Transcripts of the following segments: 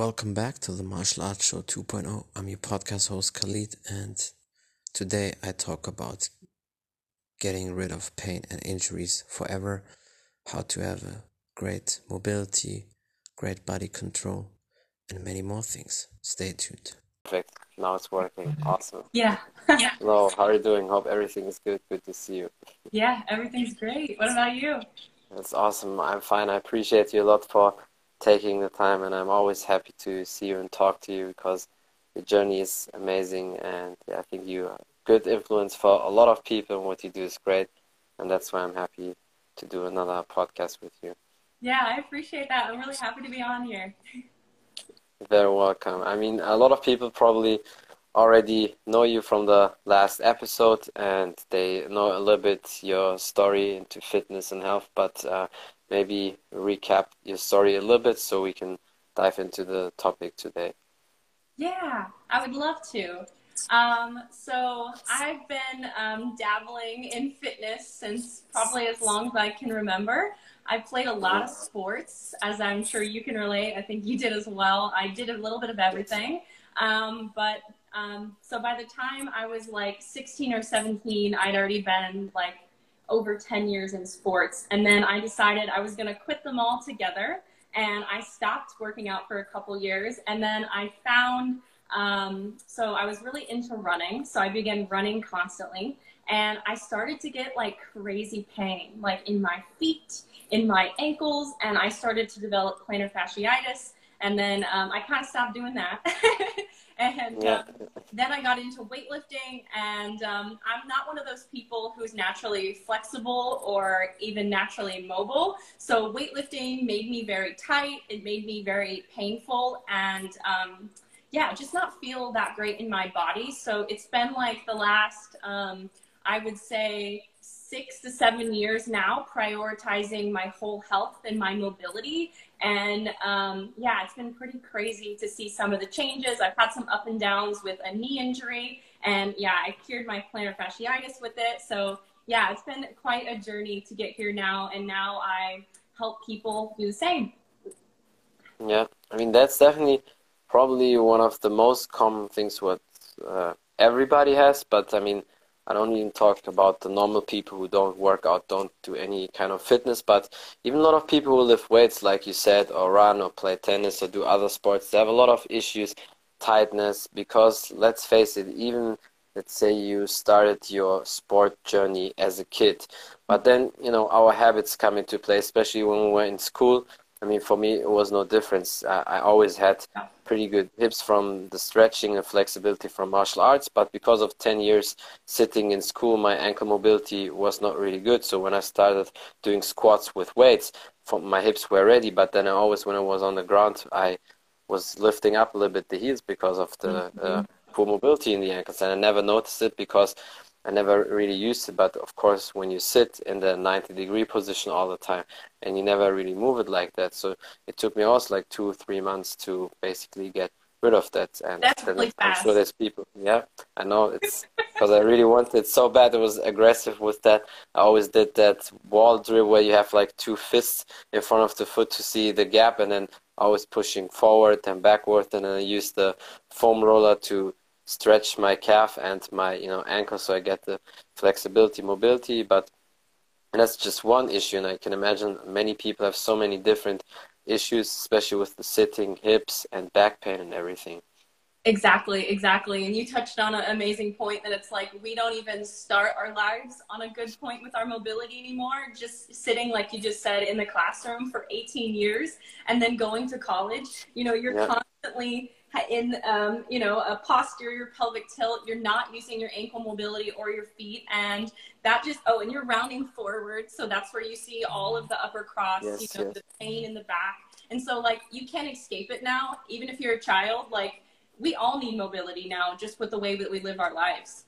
welcome back to the Martial Arts Show 2.0. I'm your podcast host Khalid, and today I talk about getting rid of pain and injuries forever, how to have a great mobility, great body control, and many more things. Stay tuned. Perfect. Now it's working. Awesome. Yeah. Hello, how are you doing? Hope everything is good. Good to see you. Yeah, everything's great. What about you? That's awesome. I'm fine. I appreciate you a lot for taking the time, and I'm always happy to see you and talk to you because your journey is amazing, and yeah, I think you are a good influence for a lot of people, and what you do is great, and that's why I'm happy to do another podcast with you. Yeah, I appreciate that. I'm really happy to be on here. Very welcome. I mean, a lot of people probably already know you from the last episode, and they know a little bit your story into fitness and health, but maybe recap your story a little bit so we can dive into the topic today. Yeah, I would love to. So I've been dabbling in fitness since probably as long as I can remember. I've played a lot of sports, as I'm sure you can relate. I think you did as well. I did a little bit of everything. So by the time I was like 16 or 17, I'd already been like over 10 years in sports. And then I decided I was going to quit them all together. And I stopped working out for a couple years. And then I found, so I was really into running. So I began running constantly. And I started to get like crazy pain, like in my feet, in my ankles. And I started to develop plantar fasciitis. And then I kind of stopped doing that. And then I got into weightlifting, and I'm not one of those people who's naturally flexible or even naturally mobile. So weightlifting made me very tight. It made me very painful, and yeah, just not feel that great in my body. So it's been like the last, I would say, 6 to 7 years now, prioritizing my whole health and my mobility. And yeah, it's been pretty crazy to see some of the changes. I've had some up and downs with a knee injury, and yeah, I cured my plantar fasciitis with it. So yeah, it's been quite a journey to get here now, and now I help people do the same. Yeah, I mean, that's definitely probably one of the most common things what everybody has, but I mean, I don't even talk about the normal people who don't work out, don't do any kind of fitness, but even a lot of people who lift weights, like you said, or run or play tennis or do other sports, they have a lot of issues, tightness, because let's face it, even let's say you started your sport journey as a kid, but then, you know, our habits come into play, especially when we were in school. I mean, for me, it was no difference. I always had pretty good hips from the stretching and flexibility from martial arts, but because of 10 years sitting in school, my ankle mobility was not really good. So when I started doing squats with weights, my hips were ready, but then I always, when I was on the ground, I was lifting up a little bit the heels because of the poor mobility in the ankles, and I never noticed it because I never really used it. But of course, when you sit in the 90-degree position all the time and you never really move it like that, so it took me also like 2 or 3 months to basically get rid of that. And That's really I'm fast. sure there's people, yeah, I know, it's because I really wanted it so bad. I was aggressive with that. I always did that wall drill where you have like 2 fists in front of the foot to see the gap, and then always pushing forward and backward, and then I use the foam roller to stretch my calf and my ankle so I get the flexibility, mobility. But that's just one issue, and I can imagine many people have so many different issues, especially with the sitting, hips and back pain and everything. Exactly. And you touched on an amazing point that it's like we don't even start our lives on a good point with our mobility anymore. Just sitting, like you just said, in the classroom for 18 years and then going to college, you're constantly in, a posterior pelvic tilt. You're not using your ankle mobility or your feet, and that just, and you're rounding forward. So that's where you see all of the upper cross, the pain in the back. And so like, you can't escape it now, even if you're a child. Like, we all need mobility now, just with the way that we live our lives.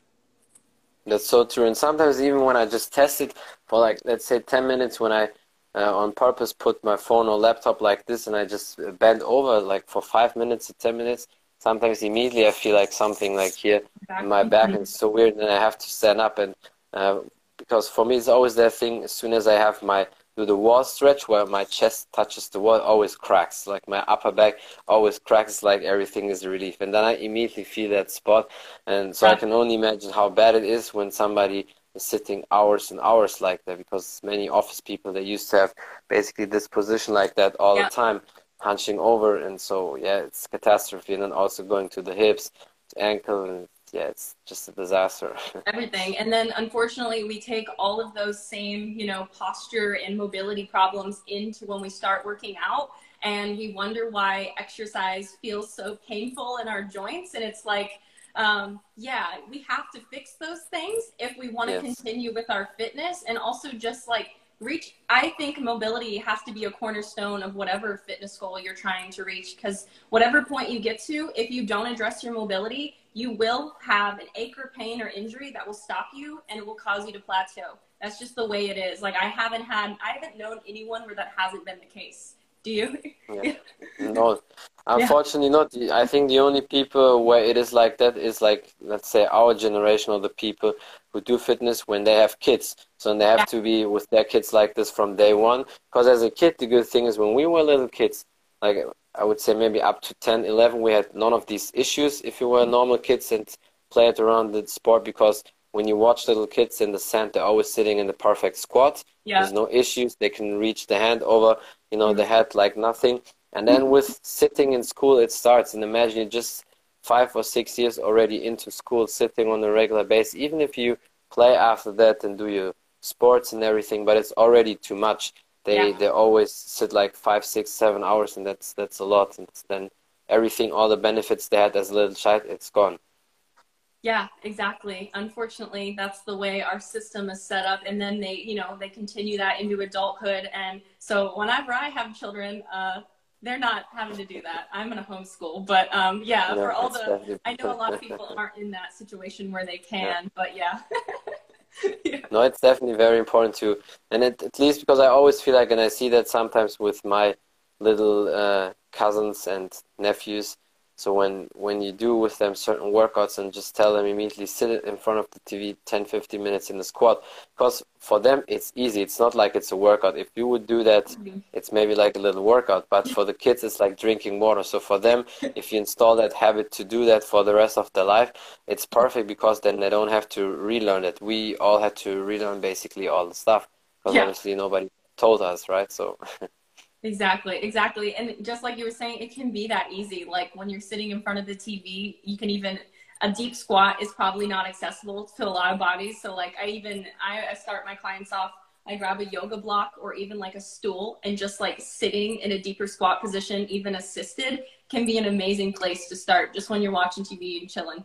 That's so true. And sometimes even when I just test it for like, let's say 10 minutes, when I on purpose put my phone or laptop like this and I just bend over like for 5 minutes or 10 minutes, sometimes immediately I feel like something like here in my back, and it's so weird, and I have to stand up. And because for me it's always that thing, as soon as I have my do the wall stretch where my chest touches the wall, it always cracks. Like my upper back always cracks, like everything is a relief. And then I immediately feel that spot. And so I can only imagine how bad it is when somebody is sitting hours and hours like that, because many office people, they used to have basically this position like that all the time, hunching over. And so, yeah, it's catastrophe. And then also going to the hips, to ankle, and yeah, it's just a disaster. Everything. And then unfortunately we take all of those same, you know, posture and mobility problems into when we start working out, and we wonder why exercise feels so painful in our joints. And it's like, yeah, we have to fix those things if we want to continue with our fitness. And also just like I think mobility has to be a cornerstone of whatever fitness goal you're trying to reach, because whatever point you get to, if you don't address your mobility, you will have an ache or pain or injury that will stop you, and it will cause you to plateau. That's just the way it is. Like I haven't known anyone where that hasn't been the case. Do you? Yeah. No, unfortunately not. I think the only people where it is like that is like, let's say, our generation, or the people who do fitness when they have kids. So they have to be with their kids like this from day one. Because as a kid, the good thing is when we were little kids, like I would say maybe up to 10, 11, we had none of these issues if you were normal kids and played around the sport, because when you watch little kids in the sand, they're always sitting in the perfect squat. There's no issues. They can reach the hand over, you know, the head like nothing. And then with sitting in school, it starts. And imagine you're just 5 or 6 years already into school, sitting on a regular basis. Even if you play after that and do your sports and everything, but it's already too much. They always sit like 5, 6, 7 hours, and that's a lot. And then everything, all the benefits they had as a little child, it's gone. Yeah, exactly. Unfortunately, that's the way our system is set up. And then they, you know, they continue that into adulthood. And so whenever I have children, they're not having to do that. I'm in a homeschool, but yeah, for all I know a lot of people aren't in that situation where they can, but yeah. No, it's definitely very important too. And at least because I always feel like, and I see that sometimes with my little cousins and nephews, so when you do with them certain workouts and just tell them immediately sit in front of the TV 10, 15 minutes in the squat, because for them it's easy. It's not like it's a workout. If you would do that, it's maybe like a little workout, but for the kids it's like drinking water. So for them, if you install that habit to do that for the rest of their life, it's perfect, because then they don't have to relearn it. We all had to relearn basically all the stuff, because obviously nobody told us, right? So Exactly. And just like you were saying, it can be that easy. Like when you're sitting in front of the TV, you can even, a deep squat is probably not accessible to a lot of bodies. So like I start my clients off, I grab a yoga block or even like a stool, and just like sitting in a deeper squat position, even assisted, can be an amazing place to start just when you're watching TV and chilling.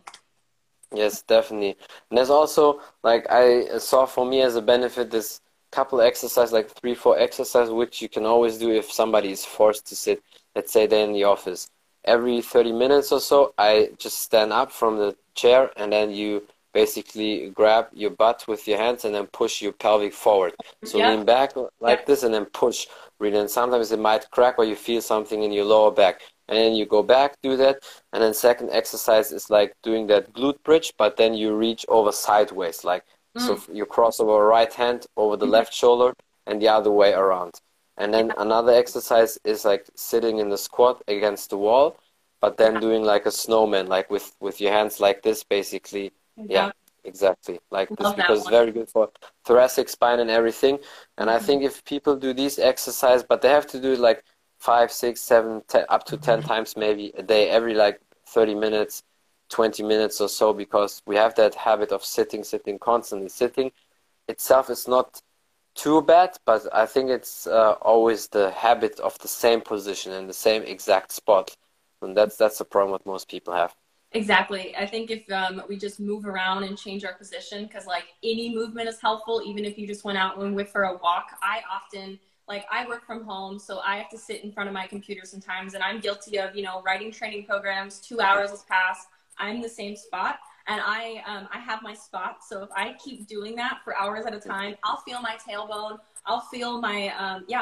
yes, definitely. And there's also, like I saw for me as a benefit, this couple exercises, like 3, 4 exercises, which you can always do if somebody is forced to sit, let's say they're in the office. Every 30 minutes or so, I just stand up from the chair, and then you basically grab your butt with your hands and then push your pelvic forward. So lean back like this and then push. Really, and sometimes it might crack or you feel something in your lower back. And then you go back, do that. And then second exercise is like doing that glute bridge, but then you reach over sideways, like so you cross over right hand over the left shoulder and the other way around. And then another exercise is like sitting in the squat against the wall, but then doing like a snowman, like with your hands like this, basically. Yeah, exactly. Like this, because it's very good for thoracic spine and everything. And I think if people do these exercises, but they have to do it like 5, 6, 7, 10, up to 10 times maybe a day, every like 30 minutes, 20 minutes or so, because we have that habit of sitting, constantly. Sitting itself is not too bad, but I think it's always the habit of the same position and the same exact spot. And that's the problem what most people have. Exactly. I think if we just move around and change our position, because like any movement is helpful, even if you just went out and went for a walk. I often, like I work from home, so I have to sit in front of my computer sometimes, and I'm guilty of, you know, writing training programs, 2 hours has passed, I'm in the same spot, and I have my spot. So if I keep doing that for hours at a time, I'll feel my tailbone. I'll feel my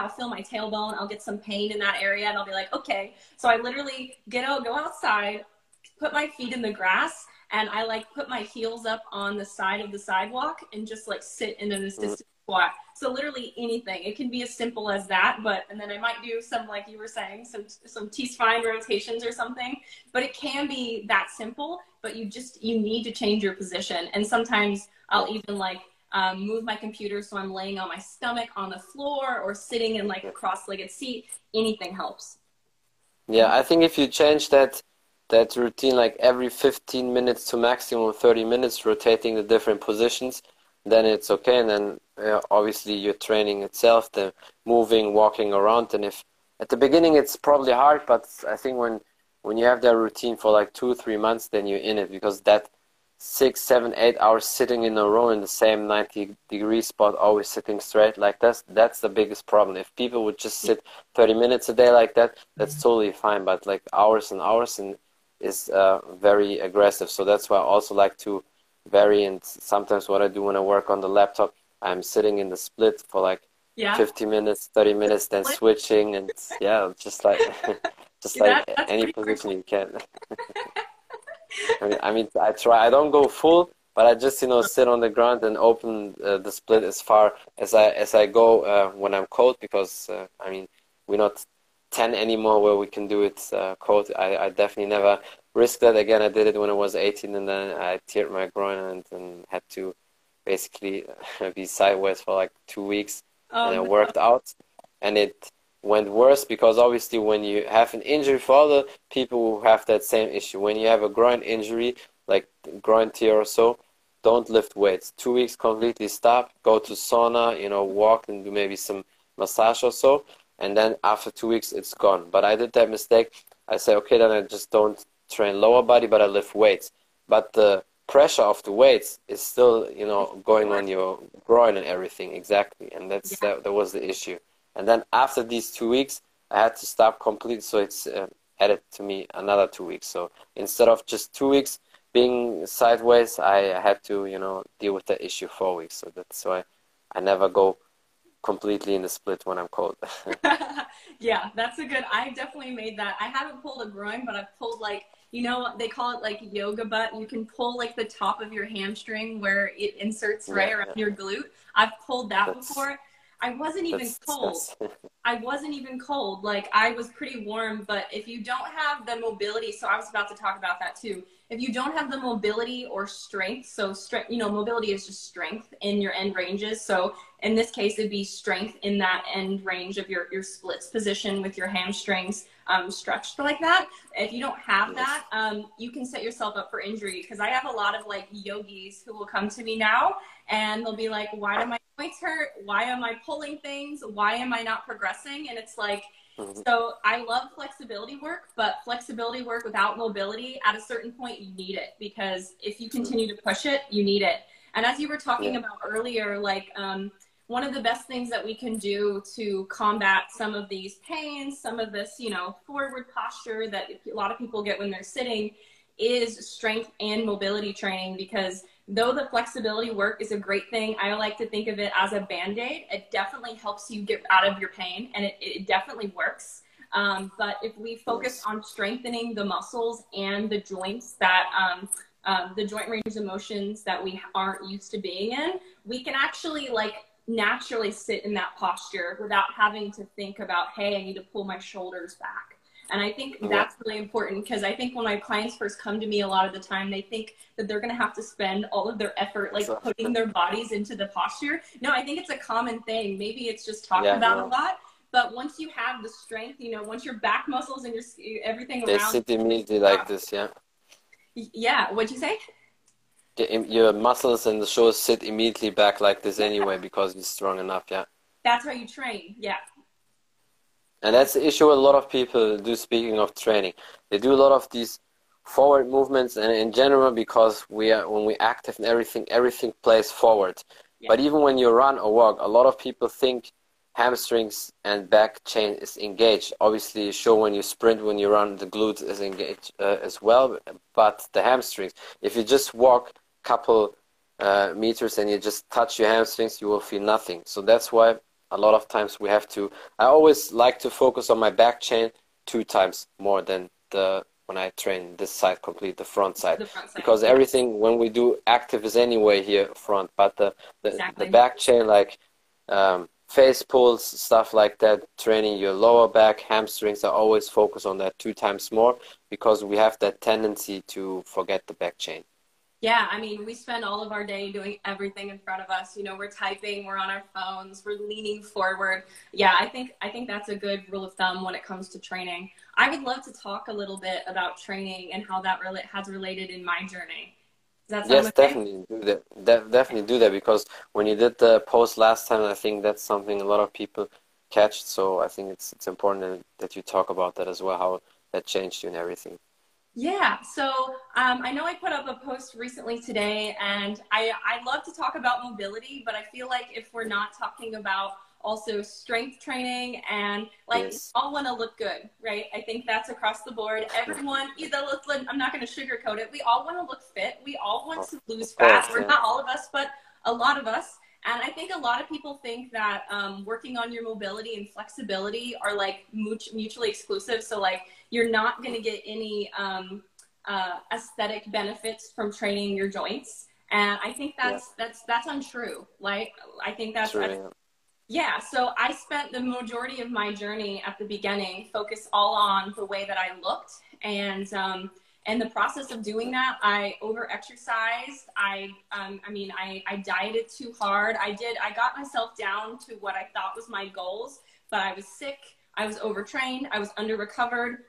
tailbone. I'll get some pain in that area, and I'll be like, okay. So I literally go outside, put my feet in the grass, and I like put my heels up on the side of the sidewalk and just like sit in an assisted squat. So literally anything. It can be as simple as that, and then I might do some, like you were saying, some T-spine rotations or something, but it can be that simple, but you need to change your position. And sometimes I'll even like move my computer so I'm laying on my stomach on the floor or sitting in like a cross-legged seat. Anything helps. Yeah, I think if you change that routine like every 15 minutes to maximum 30 minutes, rotating the different positions, then it's okay. And then obviously your training itself, the moving, walking around. And if at the beginning it's probably hard, but I think when you have that routine for like 2-3 months, then you're in it, because that 6, 7, 8 hours sitting in a row in the same 90-degree spot, always sitting straight like that's the biggest problem. If people would just sit 30 minutes a day like that, that's totally fine. But like hours and hours is very aggressive. So that's why I also like to vary. And sometimes what I do when I work on the laptop, I'm sitting in the split for like 50 minutes, 30 minutes, then switching, and just like any position you can. I mean, I try. I don't go full, but I just sit on the ground and open the split as far as I go when I'm cold, because I mean, we're not 10 anymore where we can do it cold. I definitely never risk that again. I did it when I was 18, and then I teared my groin and had to basically be sideways for like 2 weeks, and I worked out, and it went worse, because obviously when you have an injury, for other people who have that same issue, when you have a groin injury, like groin tear or so, don't lift weights. 2 weeks completely stop, go to sauna, walk and do maybe some massage or so, and then after 2 weeks it's gone. But I did that mistake. I say, okay, then I just don't train lower body, but I lift weights. But the pressure of the weights is still, going on your groin and everything. Exactly. And that was the issue. And then after these 2 weeks, I had to stop completely. So it's added to me another 2 weeks. So instead of just 2 weeks being sideways, I had to, deal with the issue 4 weeks. So that's why I never go completely in the split when I'm cold. Yeah, that's I definitely made that. I haven't pulled a groin, but I've pulled like, they call it like yoga butt. You can pull like the top of your hamstring where it inserts around your glute. I've pulled that before. I wasn't even cold. I wasn't even cold. Like, I was pretty warm, but if you don't have the mobility, so I was about to talk about that too. If you don't have the mobility or strength, so mobility is just strength in your end ranges. So in this case, it'd be strength in that end range of your splits position with your hamstrings stretched like that. If you don't have that, you can set yourself up for injury, because I have a lot of like yogis who will come to me now and they'll be like, why do my joints hurt? Why am I pulling things? Why am I not progressing? And it's like, so I love flexibility work, but flexibility work without mobility, at a certain point, you need it, because if you continue to push it, you need it. And as you were talking about earlier, like one of the best things that we can do to combat some of these pains, some of this, forward posture that a lot of people get when they're sitting, is strength and mobility training. Because though the flexibility work is a great thing, I like to think of it as a Band-Aid. It definitely helps you get out of your pain, and it definitely works. But if we focus on strengthening the muscles and the joints that, the joint range of motions that we aren't used to being in, we can actually like naturally sit in that posture without having to think about, hey, I need to pull my shoulders back. And I think that's really important, because I think when my clients first come to me, a lot of the time they think that they're going to have to spend all of their effort like putting their bodies into the posture. No, I think it's a common thing. Maybe it's just talked about a lot, but once you have the strength, once your back muscles and your everything they around, sit immediately like this. Yeah, what'd you say? Your muscles and the shoulders sit immediately back like this anyway, because you're strong enough. That's how you train. And that's the issue a lot of people do. Speaking of training, they do a lot of these forward movements, and in general, because when we're active and everything plays forward. But even when you run or walk, a lot of people think hamstrings and back chain is engaged. Obviously, sure, when you sprint, when you run, the glutes is engaged as well, but the hamstrings, if you just walk a couple meters and you just touch your hamstrings, you will feel nothing. So that's why a lot of times we have to, I always like to focus on my back chain 2 times more than the when I train this side complete, the front side, The front side. because everything when we do active is anyway here front, but the Exactly. back chain, like face pulls, stuff like that, training your lower back, hamstrings, I always focus on that 2 times more, because we have that tendency to forget the back chain. Yeah, I mean, we spend all of our day doing everything in front of us. You know, we're typing, we're on our phones, we're leaning forward. Yeah, I think that's a good rule of thumb when it comes to training. I would love to talk a little bit about training and how that has related in my journey. Does that sound Yes, okay? definitely do that. Definitely do that, because when you did the post last time, I think that's something a lot of people catch. So I think it's important that you talk about that as well, how that changed you and everything. Yeah, so I know I put up a post recently today, and I love to talk about mobility, but I feel like if we're not talking about also strength training and like we Yes. all want to look good, right? I think that's across the board. Everyone, I'm not going to sugarcoat it. We all want to look fit. We all want to lose Of course, fat. Or yeah. not all of us, but a lot of us. And I think a lot of people think that working on your mobility and flexibility are like mutually exclusive. So like you're not going to get any aesthetic benefits from training your joints. And I think that's untrue. Like I think that's True, yeah, so I spent the majority of my journey at the beginning focused all on the way that I looked, and in the process of doing that, I over-exercised. I dieted too hard. I got myself down to what I thought was my goals, but I was sick. I was overtrained. I was under-recovered.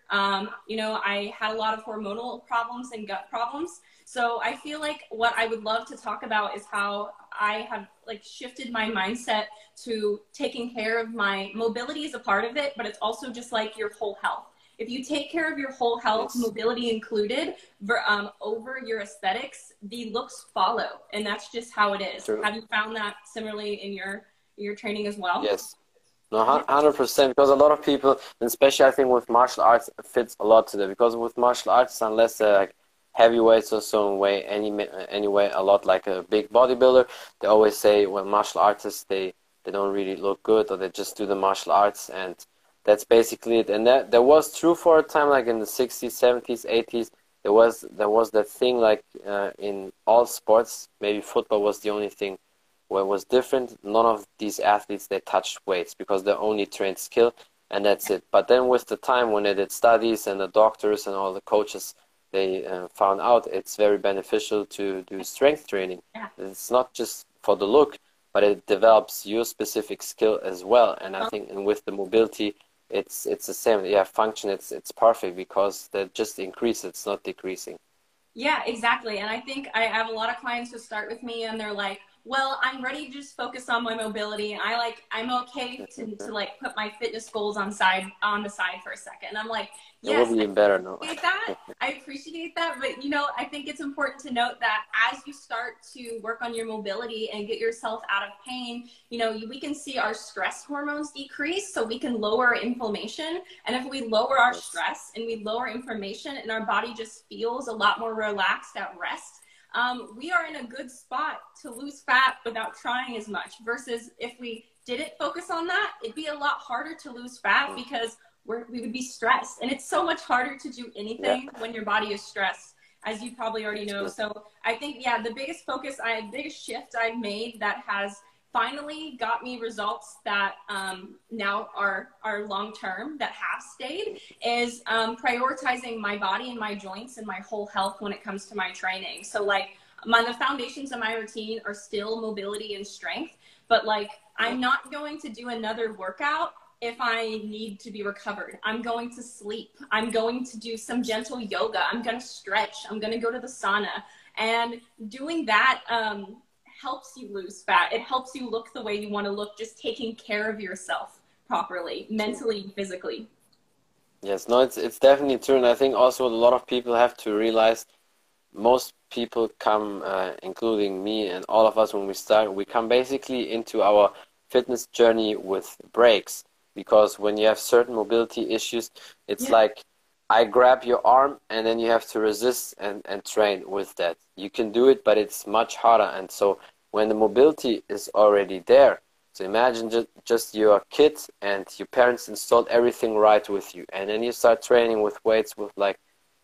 I had a lot of hormonal problems and gut problems. So I feel like what I would love to talk about is how I have like shifted my mindset to taking care of my mobility is a part of it, but it's also just like your whole health. If you take care of your whole health, Yes. mobility included, over your aesthetics, the looks follow, and that's just how it is. True. Have you found that similarly in your training as well? Yes. No, 100%, because a lot of people, and especially I think with martial arts, it fits a lot to that, because with martial arts, unless they're like heavyweights or so weigh anyway a lot like a big bodybuilder, they always say, well, martial artists, they don't really look good, or they just do the martial arts, and that's basically it. And that was true for a time, like in the 60s, 70s, 80s. There was that thing, like in all sports, maybe football was the only thing where it was different. None of these athletes, they touched weights, because they only trained skill, and that's it. But then with the time, when they did studies, and the doctors and all the coaches, they found out it's very beneficial to do strength training. Yeah. It's not just for the look, but it develops your specific skill as well. And I think, and with the mobility, it's the same. Yeah, function, it's perfect, because they just increase, it's not decreasing. Yeah, exactly. And I think I have a lot of clients who start with me and they're like, well, I'm ready to just focus on my mobility, and I'm okay to like put my fitness goals on the side for a second. And I'm like, It yes, will be better, no? I appreciate that. But I think it's important to note that as you start to work on your mobility and get yourself out of pain, we can see our stress hormones decrease, so we can lower inflammation. And if we lower our stress and we lower inflammation, and our body just feels a lot more relaxed at rest, we are in a good spot to lose fat without trying as much, versus if we didn't focus on that, it'd be a lot harder to lose fat, because we would be stressed. And it's so much harder to do anything when your body is stressed, as you probably already know. So I think, the biggest shift I've made that has finally got me results that now are long-term, that have stayed, is prioritizing my body and my joints and my whole health when it comes to my training. So like the foundations of my routine are still mobility and strength, but like I'm not going to do another workout if I need to be recovered. I'm going to sleep. I'm going to do some gentle yoga. I'm going to stretch. I'm going to go to the sauna. And doing that helps you lose fat. It helps you look the way you want to look, just taking care of yourself properly, mentally, physically. Yes, no, it's definitely true. And I think also a lot of people have to realize, most people come, including me and all of us, when we come basically into our fitness journey with breaks. Because when you have certain mobility issues, it's like I grab your arm and then you have to resist and train with that. You can do it, but it's much harder. And so when the mobility is already there, so imagine just you're a kid and your parents installed everything right with you. And then you start training with weights with like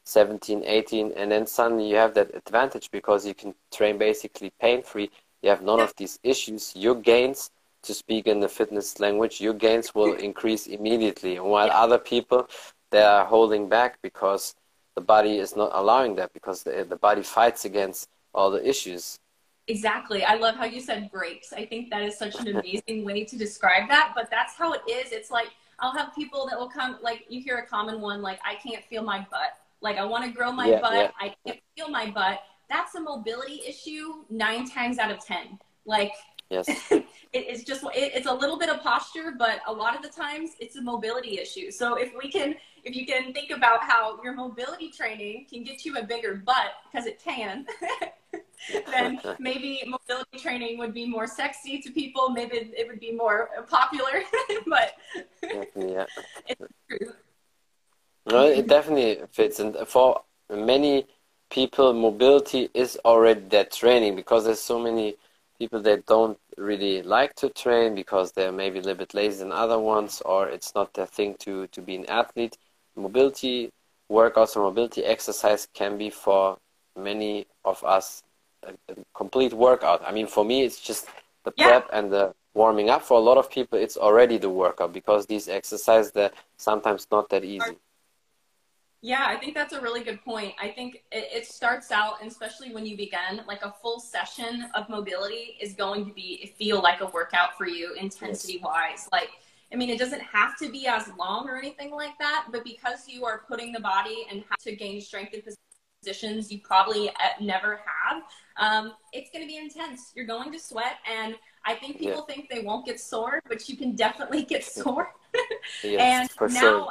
17, 18, and then suddenly you have that advantage because you can train basically pain-free. You have none of these issues. Your gains, to speak in the fitness language, your gains will increase immediately. While other people, they are holding back because the body is not allowing that, because the body fights against all the issues. Exactly. I love how you said breaks. I think that is such an amazing way to describe that, but that's how it is. It's like, I'll have people that will come, like you hear a common one, like, I can't feel my butt. Like, I want to grow my butt. I can't feel my butt. That's a mobility issue 9 times out of 10. Like, it's just, it's a little bit of posture, but a lot of the times it's a mobility issue. So if you can think about how your mobility training can get you a bigger butt, because it can, then maybe mobility training would be more sexy to people. Maybe it would be more popular, but it's true. No, it definitely fits. And for many people, mobility is already their training, because there's so many people that don't really like to train because they're maybe a little bit lazy than other ones, or it's not their thing to be an athlete. Mobility workouts or mobility exercise can be for many of us a complete workout. I mean, for me, it's just the prep and the warming up. For a lot of people, it's already the workout, because these exercises, they're sometimes not that easy. Yeah, I think that's a really good point. I think it starts out, and especially when you begin, like a full session of mobility is going to feel like a workout for you, intensity-wise. Like, I mean, it doesn't have to be as long or anything like that, but because you are putting the body and have to gain strength in positions you probably never have, it's going to be intense. You're going to sweat, and I think people think they won't get sore, but you can definitely get sore. And for now, sure.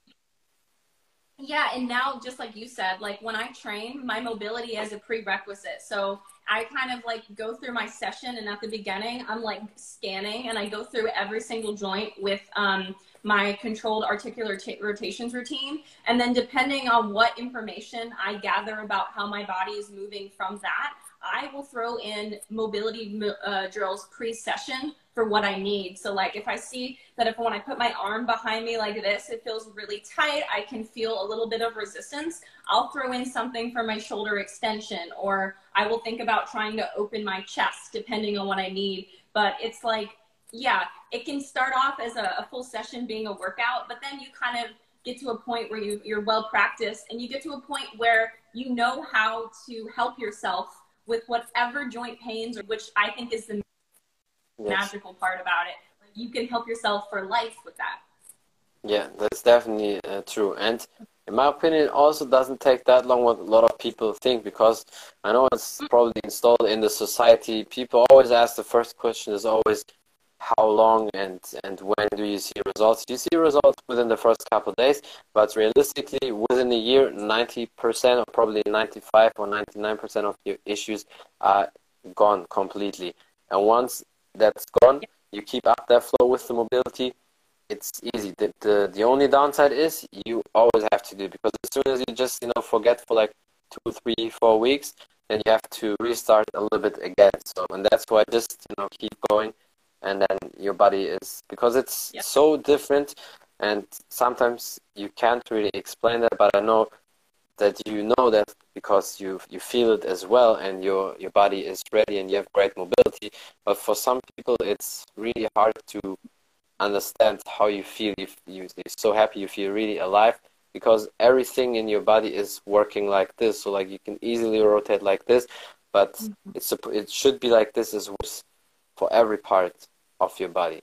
Yeah, and now, just like you said, like when I train, my mobility is a prerequisite. So I kind of like go through my session, and at the beginning, I'm like scanning, and I go through every single joint with my controlled articular rotations routine. And then depending on what information I gather about how my body is moving from that, I will throw in mobility drills pre-session for what I need. So like if I see that when I put my arm behind me like this, it feels really tight, I can feel a little bit of resistance, I'll throw in something for my shoulder extension, or I will think about trying to open my chest depending on what I need. But it's like, yeah, it can start off as a full session being a workout, but then you kind of get to a point where you're well practiced, and you get to a point where you know how to help yourself with whatever joint pains, which I think is the magical part about it. Like, you can help yourself for life with that. Yeah, that's definitely true. And in my opinion, it also doesn't take that long what a lot of people think, because I know it's probably installed in the society. People always ask, the first question is always, how long and when do you see results? You see results within the first couple of days, but realistically, within a year, 90% or probably 95 or 99% of your issues are gone completely. And once that's gone, you keep up that flow with the mobility, it's easy. The only downside is you always have to do it, because as soon as you just forget for like 2, 3, 4 weeks, then you have to restart a little bit again. So, and that's why just keep going, and then your body is, because it's so different, and sometimes you can't really explain that, but I know that that because you feel it as well, and your body is ready and you have great mobility. But for some people, it's really hard to understand how you feel. You're so happy, you feel really alive, because everything in your body is working like this. So like you can easily rotate like this, but it should be like this as well for every part of your body.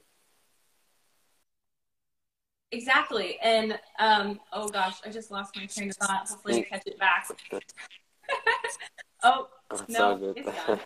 Exactly. And oh gosh, I just lost my train of thought. Hopefully I catch it back. Oh no, it's gone.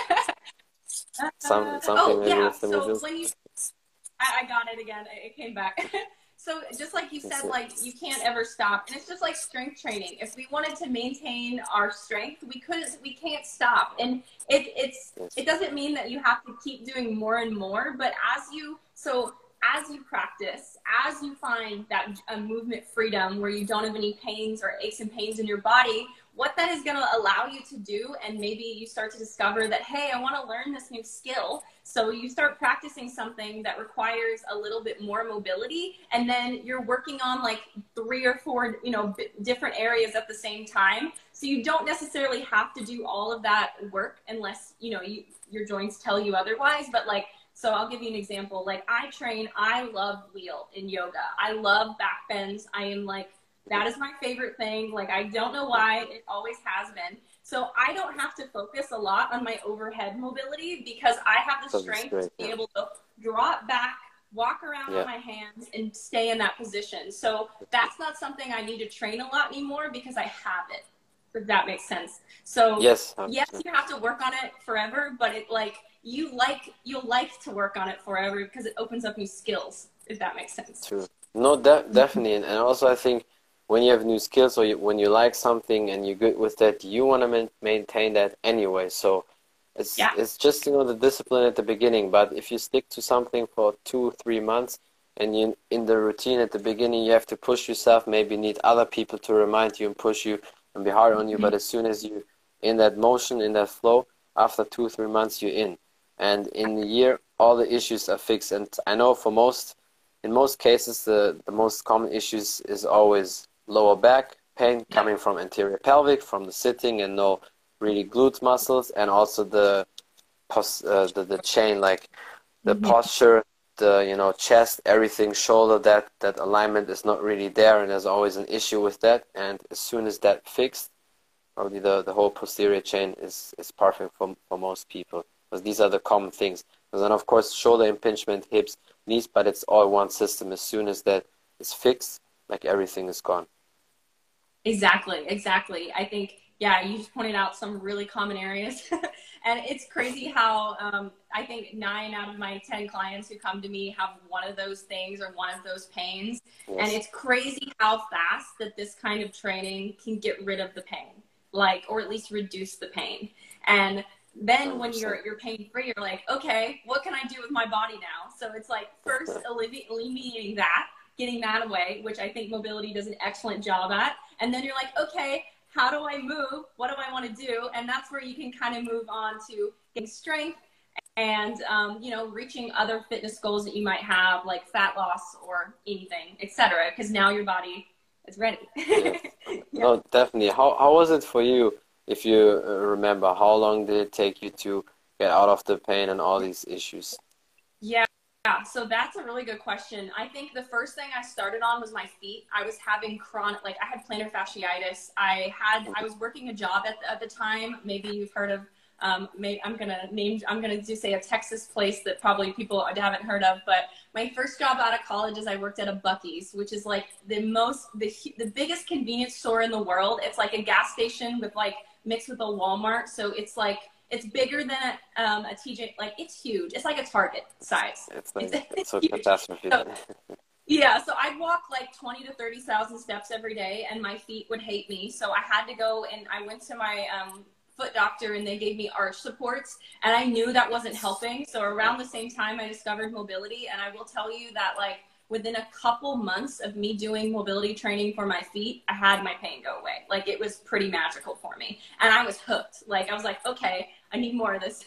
So when you, I got it again. It came back. So just like you said, like you can't ever stop, and it's just like strength training. If we wanted to maintain our strength, we can't stop. And it doesn't mean that you have to keep doing more and more, but as you practice, as you find that movement freedom where you don't have any pains or aches and pains in your body, what that is going to allow you to do. And maybe you start to discover that, hey, I want to learn this new skill. So you start practicing something that requires a little bit more mobility. And then you're working on like 3 or 4, you know, different areas at the same time. So you don't necessarily have to do all of that work unless, you know, your joints tell you otherwise. But like, so I'll give you an example. Like I love wheel in yoga. I love back bends. I am like, that is my favorite thing. Like, I don't know why, it always has been. So I don't have to focus a lot on my overhead mobility because I have the strength to be able to drop back, walk around on my hands and stay in that position. So that's not something I need to train a lot anymore because I have it, if that makes sense. So yes, you have to work on it forever, but it like, you'll like to work on it forever because it opens up new skills, if that makes sense. True. No, definitely. And also I think when you have new skills or when you like something and you're good with that, you want to maintain that anyway. So it's just, you know, the discipline at the beginning. But if you stick to something for 2-3 months and you in the routine at the beginning, you have to push yourself, maybe need other people to remind you and push you and be hard on you. But as soon as you in that motion, in that flow, after 2-3 months, you're in. And in a year, all the issues are fixed. And I know in most cases, the most common issues is always lower back pain coming from anterior pelvic, from the sitting and no really glute muscles, and also the chain, like the posture, the, you know, chest, everything, shoulder, that alignment is not really there, and there's always an issue with that. And as soon as that fixed, probably the whole posterior chain is perfect for most people, because these are the common things. And then of course shoulder impingement, hips, knees, but it's all one system. As soon as that is fixed, like everything is gone. Exactly. I think, you just pointed out some really common areas. And it's crazy how I think 9 out of my 10 clients who come to me have one of those things or one of those pains. Yes. And it's crazy how fast that this kind of training can get rid of the pain, like, or at least reduce the pain. And then 100%. When you're pain free, you're like, okay, what can I do with my body now? So it's like first alleviating that, getting that away, which I think mobility does an excellent job at. And then you're like, okay, how do I move? What do I want to do? And that's where you can kind of move on to getting strength and, you know, reaching other fitness goals that you might have, like fat loss or anything, etc. Because now your body is ready. Yes. No, definitely. How was it for you? If you remember, how long did it take you to get out of the pain and all these issues? Yeah, so that's a really good question. I think the first thing I started on was my feet. I was having chronic, like I had plantar fasciitis. I was working a job at the time. Maybe you've heard of, I'm gonna just say a Texas place that probably people haven't heard of. But my first job out of college is I worked at a Buc-ee's, which is like the biggest convenience store in the world. It's like a gas station with like mixed with a Walmart. So it's like, it's bigger than a TJ, like it's huge. It's like a Target size. It's so catastrophe. Yeah, so I'd walk like 20 to 30,000 steps every day and my feet would hate me. So I had to go and I went to my foot doctor and they gave me arch supports and I knew that wasn't helping. So around the same time I discovered mobility, and I will tell you that like within a couple months of me doing mobility training for my feet, I had my pain go away. Like it was pretty magical for me. And I was hooked. Like I was like, okay, I need more of this.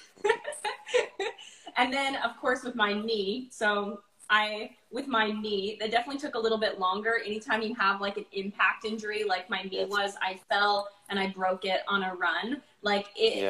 And then of course with my knee, with my knee, that definitely took a little bit longer. Anytime you have like an impact injury, like my knee was, I fell and I broke it on a run. Like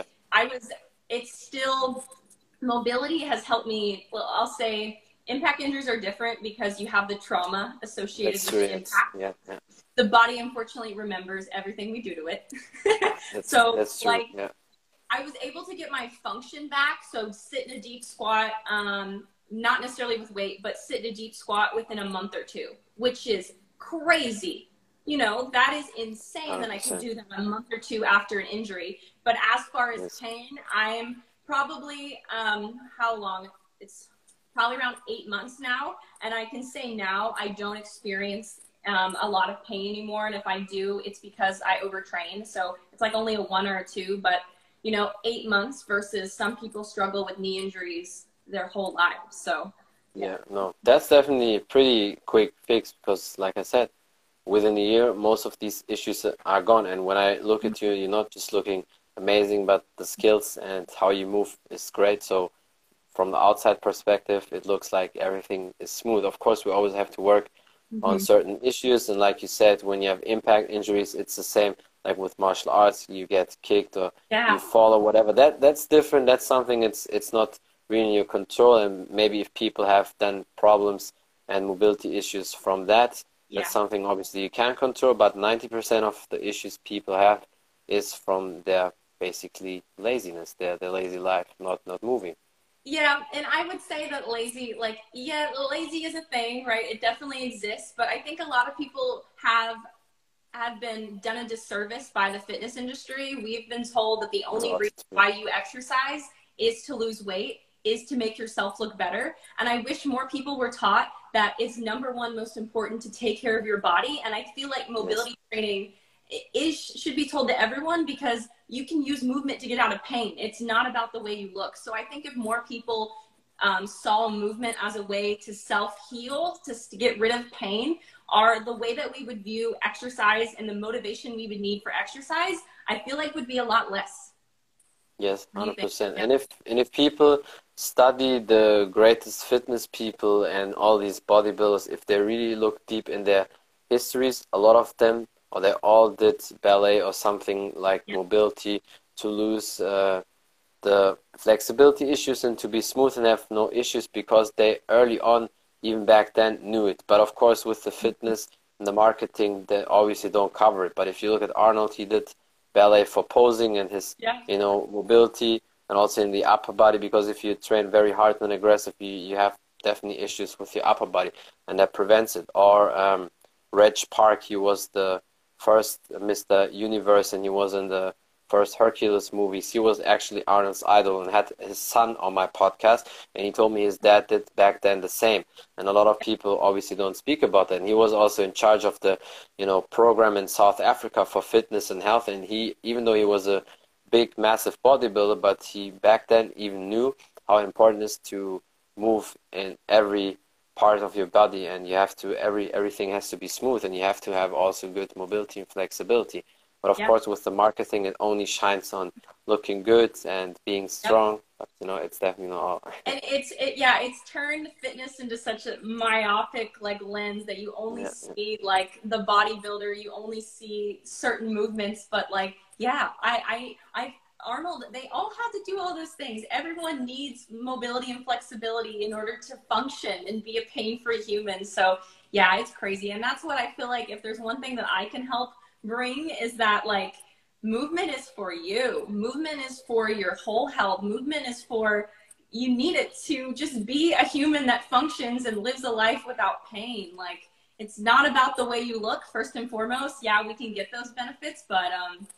it's still, mobility has helped me. Well, I'll say, impact injuries are different because you have the trauma associated with the impact. Yeah. The body unfortunately remembers everything we do to it. That's true. Like, I was able to get my function back. So sit in a deep squat, not necessarily with weight, but sit in a deep squat within a month or 2, which is crazy. You know, that is insane 100%. That I could do that a month or 2 after an injury. But as far as pain, I'm probably, how long? It's probably around 8 months now. And I can say now I don't experience a lot of pain anymore. And if I do, it's because I overtrain. So it's like only a 1 or a 2, but you know, 8 months versus some people struggle with knee injuries their whole lives. So yeah, no, that's definitely a pretty quick fix because like I said, within a year, most of these issues are gone. And when I look at you, you're not just looking amazing, but the skills and how you move is great. So from the outside perspective, it looks like everything is smooth. Of course, we always have to work on certain issues. And like you said, when you have impact injuries, it's the same. Like with martial arts, you get kicked or you fall or whatever. That's different. That's something it's not really in your control. And maybe if people have then problems and mobility issues from that, that's something obviously you can control. But 90% of the issues people have is from their basically laziness, their lazy life, not moving. Yeah, and I would say that lazy is a thing, right? It definitely exists, but I think a lot of people have been done a disservice by the fitness industry. We've been told that the only reason why you exercise is to lose weight, is to make yourself look better. And I wish more people were taught that it's number one most important to take care of your body. And I feel like mobility training should be told to everyone, because you can use movement to get out of pain. It's not about the way you look. So I think if more people saw movement as a way to self-heal, to get rid of pain, are the way that we would view exercise and the motivation we would need for exercise, I feel like would be a lot less. Yes, 100%. And if people study the greatest fitness people and all these bodybuilders, if they really look deep in their histories, a lot of them, or they all did ballet or something like mobility to lose the flexibility issues and to be smooth and have no issues, because they early on, even back then, knew it. But of course, with the fitness and the marketing, they obviously don't cover it. But if you look at Arnold, he did ballet for posing and his, you know, mobility, and also in the upper body, because if you train very hard and aggressive, you have definitely issues with your upper body, and that prevents it. Or Reg Park, he was the first Mr. Universe, and he was in the first Hercules movies. He was actually Arnold's idol and had his son on my podcast, and he told me his dad did back then the same. And a lot of people obviously don't speak about that. And he was also in charge of the, you know, program in South Africa for fitness and health. And he, even though he was a big, massive bodybuilder, but he back then even knew how important it is to move in every part of your body, and you have to, everything has to be smooth, and you have to have also good mobility and flexibility. But of course, with the marketing, it only shines on looking good and being strong. But, you know, it's definitely not all. And it's turned fitness into such a myopic lens that you only see the bodybuilder, you only see certain movements. But Arnold, they all had to do all those things. Everyone needs mobility and flexibility in order to function and be a pain-free human. So yeah, it's crazy. And that's what I feel like, if there's one thing that I can help bring, is that movement is for you. Movement is for your whole health. Movement is for, you need it to just be a human that functions and lives a life without pain. It's not about the way you look, first and foremost. Yeah, we can get those benefits, but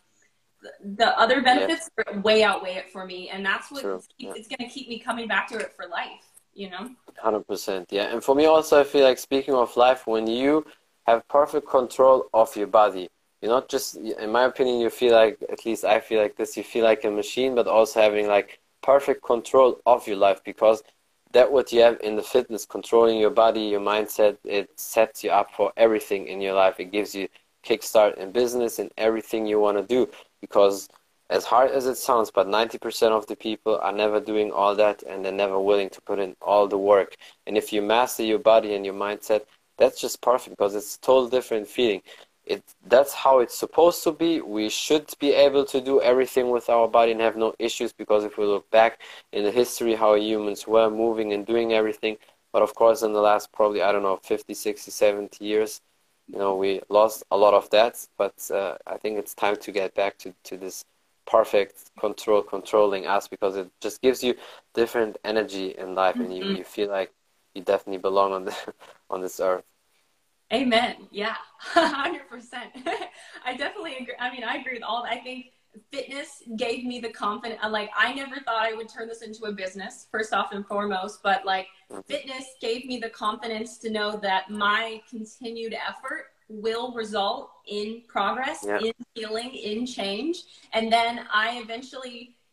the other benefits way outweigh it for me, and that's what it's going to keep me coming back to it for life, you know. 100%. Yeah. And for me also, I feel like, speaking of life, when you have perfect control of your body, you're not just, in my opinion, you feel like, at least I feel like this, you feel like a machine, but also having perfect control of your life, because that what you have in the fitness, controlling your body, your mindset, it sets you up for everything in your life. It gives you kickstart in business and everything you want to do. Because as hard as it sounds, but 90% of the people are never doing all that, and they're never willing to put in all the work. And if you master your body and your mindset, that's just perfect, because it's a total different feeling. That's how it's supposed to be. We should be able to do everything with our body and have no issues, because if we look back in the history how humans were moving and doing everything, but of course in the last probably, I don't know, 50, 60, 70 years, you know, we lost a lot of that. But I think it's time to get back to this perfect controlling us, because it just gives you different energy in life, and you feel like you definitely belong on this earth. Amen. Yeah, 100%. I definitely agree. I mean, I agree with all that. I think fitness gave me the confidence. I never thought I would turn this into a business, first off and foremost, but fitness gave me the confidence to know that my continued effort will result in progress, in healing, in change. And then I eventually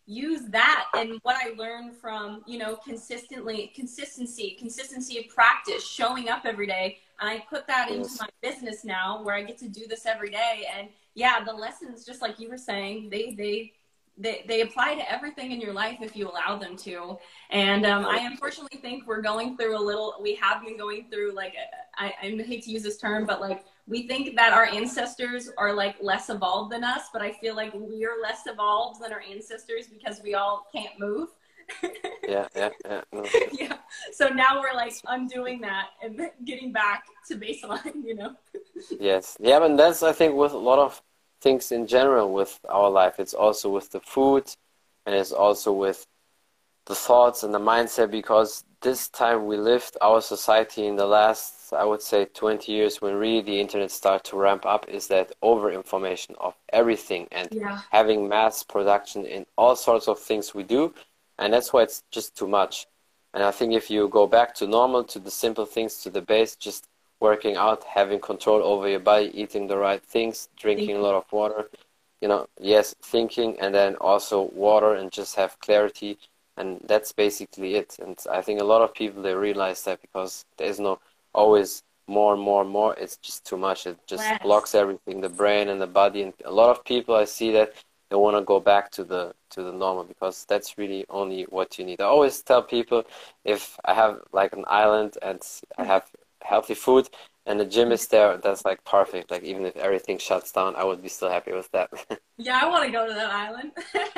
use that and what I learned from, you know, consistency of practice, showing up every day. And I put that into Yes. my business now where I get to do this every day. And yeah, the lessons, just like you were saying, they apply to everything in your life if you allow them to. And I unfortunately think we have been going through like, I hate to use this term, but like, we think that our ancestors are like less evolved than us, but I feel like we're less evolved than our ancestors because we all can't move. Yeah, yeah, yeah. No. Yeah. So now we're like undoing that and getting back to baseline, you know? Yes. Yeah, but that's, I think, with a lot of things in general with our life. It's also with the food, and it's also with the thoughts and the mindset, because this time we lived, our society in the last, I would say, 20 years, when really the internet started to ramp up, is that over information of everything and Yeah. having mass production in all sorts of things we do. And that's why it's just too much. And I think if you go back to normal, to the simple things, to the base, just working out, having control over your body, eating the right things, drinking a lot of water, you know, yes, thinking, and then also water, and just have clarity. And that's basically it. And I think a lot of people, they realize that, because there's no always more and more and more. It's just too much. It just Yes. blocks everything, the brain and the body. And a lot of people, I see that they want to go back to the normal, because that's really only what you need. I always tell people, if I have like an island and I have healthy food and the gym is there, that's like perfect. Like, even if everything shuts down, I would be still happy with that. Yeah, I want to go to that island.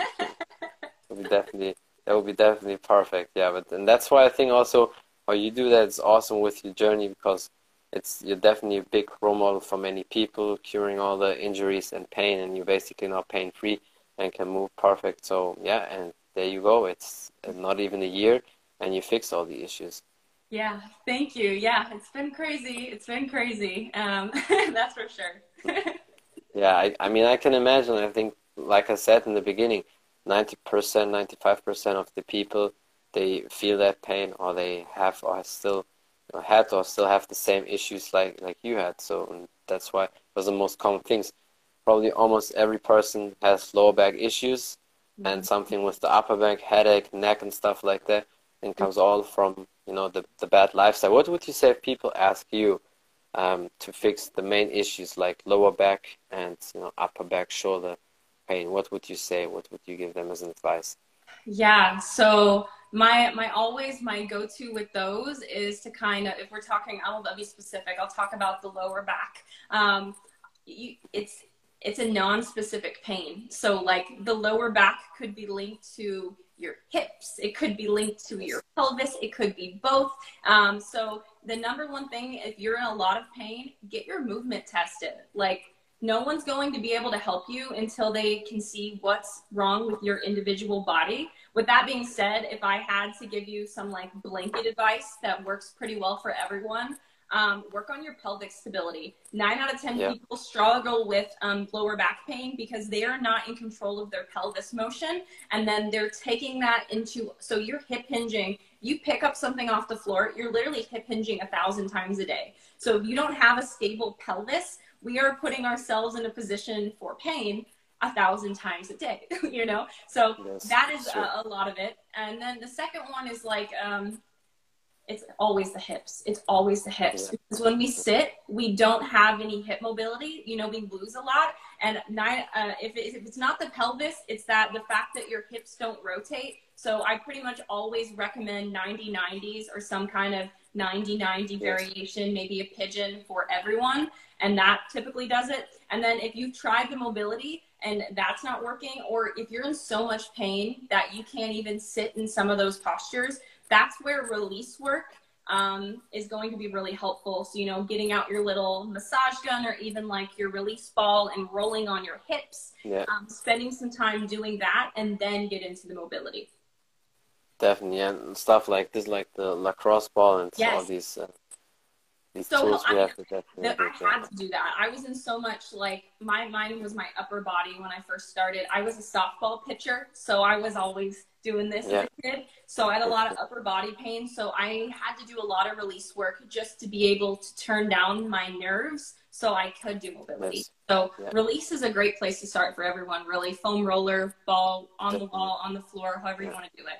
That would be definitely perfect. Yeah, but and that's why I think also how you do that is awesome with your journey, because you're definitely a big role model for many people, curing all the injuries and pain, and you're basically now pain free and can move perfect. So yeah, and there you go. It's not even a year, and you fix all the issues. Yeah, thank you. Yeah, it's been crazy. It's been crazy. That's for sure. Yeah, I mean, I can imagine. I think, like I said in the beginning, 90%, 95% of the people, they feel that pain, or they have, or still, you know, had, or still have the same issues like you had. So, and that's why it was the most common things. Probably almost every person has lower back issues, and something with the upper back, headache, neck, and stuff like that, and comes all from, you know, the bad lifestyle. What would you say if people ask you to fix the main issues like lower back and, you know, upper back, shoulder pain? What would you say? What would you give them as an advice? Yeah, so my go-to with those is to kind of, if we're talking, I'll be specific. I'll talk about the lower back. It's a non-specific pain. So like the lower back could be linked to your hips. It could be linked to your pelvis. It could be both. So the number one thing, if you're in a lot of pain, get your movement tested. Like, no one's going to be able to help you until they can see what's wrong with your individual body. With that being said, if I had to give you some like blanket advice that works pretty well for everyone, work on your pelvic stability. 9 out of 10 people struggle with lower back pain because they are not in control of their pelvis motion. And then they're taking that into, so you're hip hinging. You pick up something off the floor, you're literally hip hinging 1,000 times a day. So if you don't have a stable pelvis, we are putting ourselves in a position for pain 1,000 times a day, you know? So that is a lot of it. And then the second one is like, it's always the hips. It's always the hips. Because when we sit, we don't have any hip mobility. You know, we lose a lot. And if it's not the pelvis, it's that the fact that your hips don't rotate. So I pretty much always recommend 90-90s or some kind of 90-90 variation, maybe a pigeon for everyone. And that typically does it. And then if you've tried the mobility and that's not working, or if you're in so much pain that you can't even sit in some of those postures, that's where release work is going to be really helpful. So, you know, getting out your little massage gun or even like your release ball and rolling on your hips, spending some time doing that, and then get into the mobility. Definitely, and stuff like this, like the lacrosse ball and all these. these So tools I we mean, have to definitely that do. I had to do that. I was in so much like mine was my upper body when I first started. I was a softball pitcher, so I was always doing this Yeah. as a kid. So I had a lot of upper body pain. So I had to do a lot of release work just to be able to turn down my nerves so I could do mobility. Yes. So Yeah. release is a great place to start for everyone, really. Foam roller, ball on the Definitely. wall, on the floor, however you Yeah. want to do it.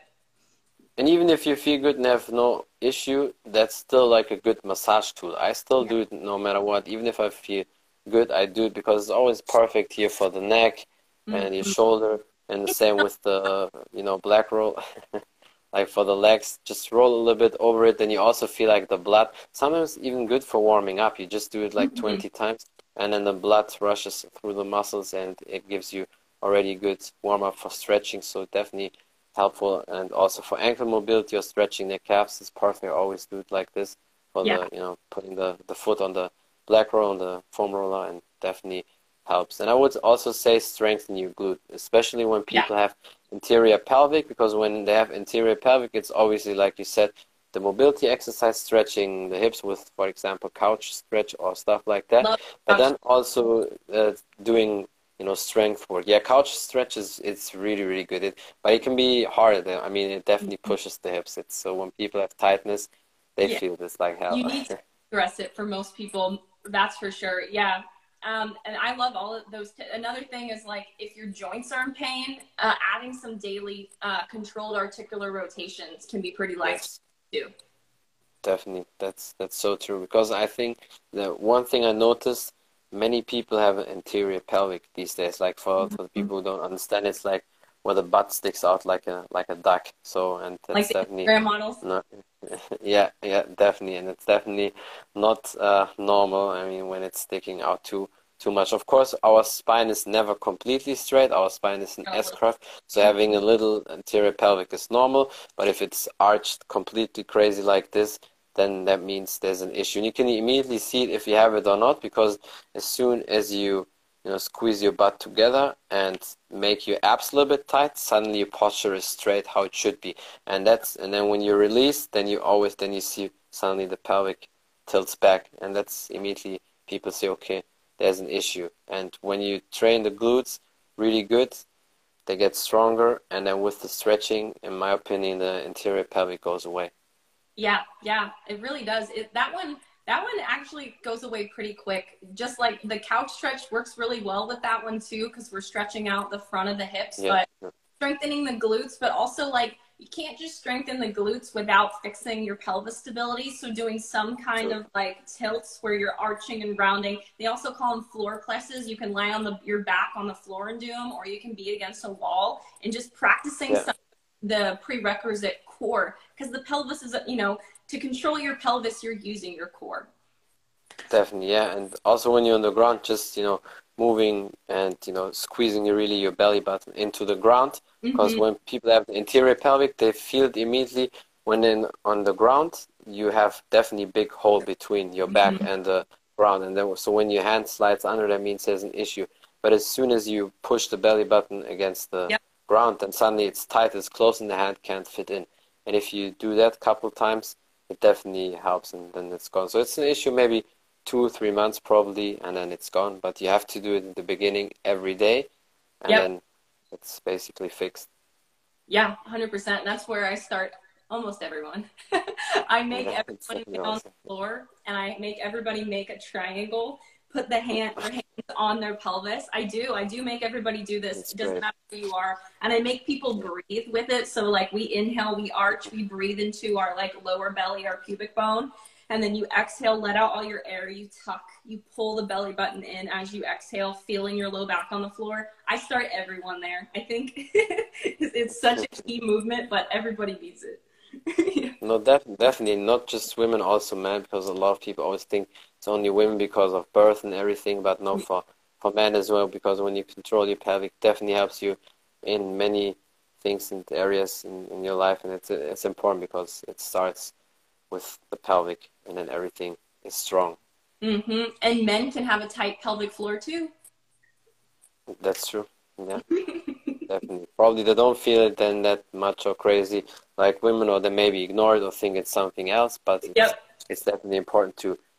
And even if you feel good and have no issue, that's still like a good massage tool. I still do it no matter what. Even if I feel good, I do it because it's always perfect here for the neck and your shoulder. And the same with the, black roll. Like for the legs, just roll a little bit over it. Then you also feel like the blood, sometimes even good for warming up. You just do it like 20 times and then the blood rushes through the muscles and it gives you already a good warm up for stretching. So definitely helpful, and also for ankle mobility or stretching the calves is perfect. I always do it like this for the putting the foot on the black roll on the foam roller, and definitely helps. And I would also say strengthen your glute, especially when people have anterior pelvic, because when they have anterior pelvic, it's obviously like you said, the mobility exercise, stretching the hips with, for example, couch stretch or stuff like that. But then also doing strength work. Yeah, couch stretch it's really, really good. But it can be hard. I mean, it definitely pushes the hips. So when people have tightness, they feel this like hell. You need to address it for most people. That's for sure. Yeah. And I love all of those. Another thing is like if your joints are in pain, adding some daily controlled articular rotations can be pretty life too. Definitely, that's so true, because I think the one thing I noticed, many people have an anterior pelvic these days. Like for the people who don't understand, it's like where the butt sticks out like a duck. So, and that's like definitely Instagram models. not, yeah, definitely, and it's definitely not normal. I mean, when it's sticking out too much. Of course, our spine is never completely straight. Our spine is an S-curve, so having a little anterior pelvic is normal. But if it's arched completely crazy like this, then that means there's an issue. And you can immediately see it if you have it or not, because as soon as you squeeze your butt together and make your abs a little bit tight, suddenly your posture is straight how it should be. And then when you release, then you see suddenly the pelvic tilts back, and that's immediately people say, okay, there's an issue. And when you train the glutes really good, they get stronger, and then with the stretching, in my opinion, the anterior pelvic goes away. Yeah, it really does. That one actually goes away pretty quick. Just like the couch stretch works really well with that one too, because we're stretching out the front of the hips, but strengthening the glutes, but also like you can't just strengthen the glutes without fixing your pelvis stability. So doing some kind of like tilts where you're arching and rounding. They also call them floor presses. You can lie on your back on the floor and do them, or you can be against a wall and just practicing the prerequisite core, because the pelvis is, to control your pelvis, you're using your core. Definitely, yeah. And also when you're on the ground, just, moving and, squeezing your belly button into the ground. Because when people have the anterior pelvic, they feel it immediately. When on the ground, you have definitely big hole between your back and the ground. And then, so when your hand slides under, that means there's an issue. But as soon as you push the belly button against the ground, then suddenly it's tight, it's close, and the hand can't fit in. And if you do that a couple times, it definitely helps, and then it's gone. So it's an issue maybe 2-3 months probably, and then it's gone. But you have to do it in the beginning every day, and then it's basically fixed. Yeah, 100%. That's where I start almost everyone. I make everybody get on the floor, and I make everybody make a triangle, put their hands on their pelvis. I do make everybody do this. It doesn't matter who you are. And I make people breathe with it. So like we inhale, we arch, we breathe into our like lower belly, our pubic bone. And then you exhale, let out all your air, you tuck, you pull the belly button in as you exhale, feeling your low back on the floor. I start everyone there. I think it's such a key movement, but everybody needs it. No, definitely not just women, also men, because a lot of people always think it's only women because of birth and everything, but no, for men as well, because when you control your pelvic, definitely helps you in many things and areas in your life, and it's important because it starts with the pelvic, and then everything is strong. And men can have a tight pelvic floor too. That's true. Yeah. Definitely. Probably they don't feel it then that much or crazy like women, or they maybe ignore it or think it's something else, but it's definitely important to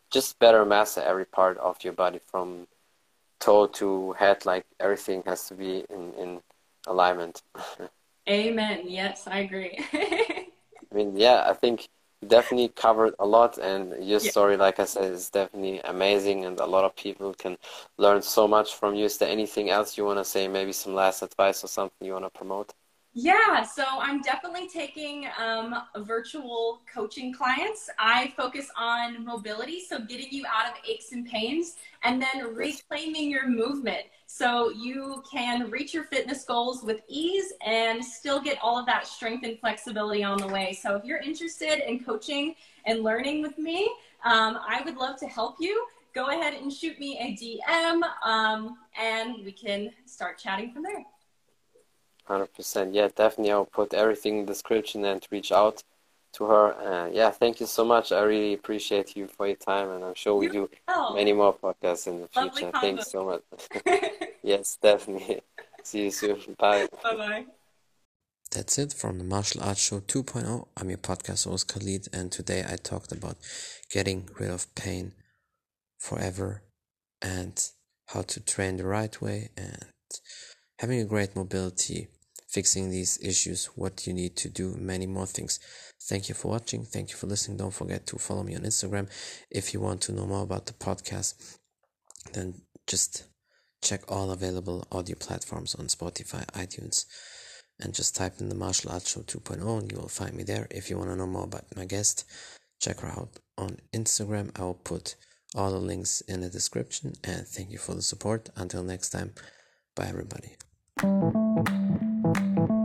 just better master every part of your body from toe to head. Like everything has to be in alignment. Amen. Yes, I agree. I mean, yeah, I think you definitely covered a lot, and your Yeah. story, like I said, is definitely amazing, and a lot of people can learn so much from you. Is there anything else you want to say? Maybe some last advice or something you want to promote? Yeah, so I'm definitely taking virtual coaching clients. I focus on mobility, so getting you out of aches and pains, and then Yes. reclaiming your movement so you can reach your fitness goals with ease and still get all of that strength and flexibility on the way. So if you're interested in coaching and learning with me, I would love to help you. Go ahead and shoot me a DM, and we can start chatting from there. 100%. Yeah, definitely. I'll put everything in the description and reach out to her. Yeah, thank you so much. I really appreciate you for your time, and I'm sure we do many more podcasts in the Lovely future. combo. Thanks so much. Yes, definitely. See you soon. Bye. Bye-bye. That's it from the Martial Arts Show 2.0. I'm your podcast host Khalid, and today I talked about getting rid of pain forever and how to train the right way and having a great mobility, fixing these issues, what you need to do, many more things. Thank you for watching. Thank you for listening. Don't forget to follow me on Instagram. If you want to know more about the podcast, then just check all available audio platforms on Spotify, iTunes, and just type in the Martial Arts Show 2.0 and you will find me there. If you want to know more about my guest, check her out on Instagram. I will put all the links in the description, and thank you for the support. Until next time, bye everybody.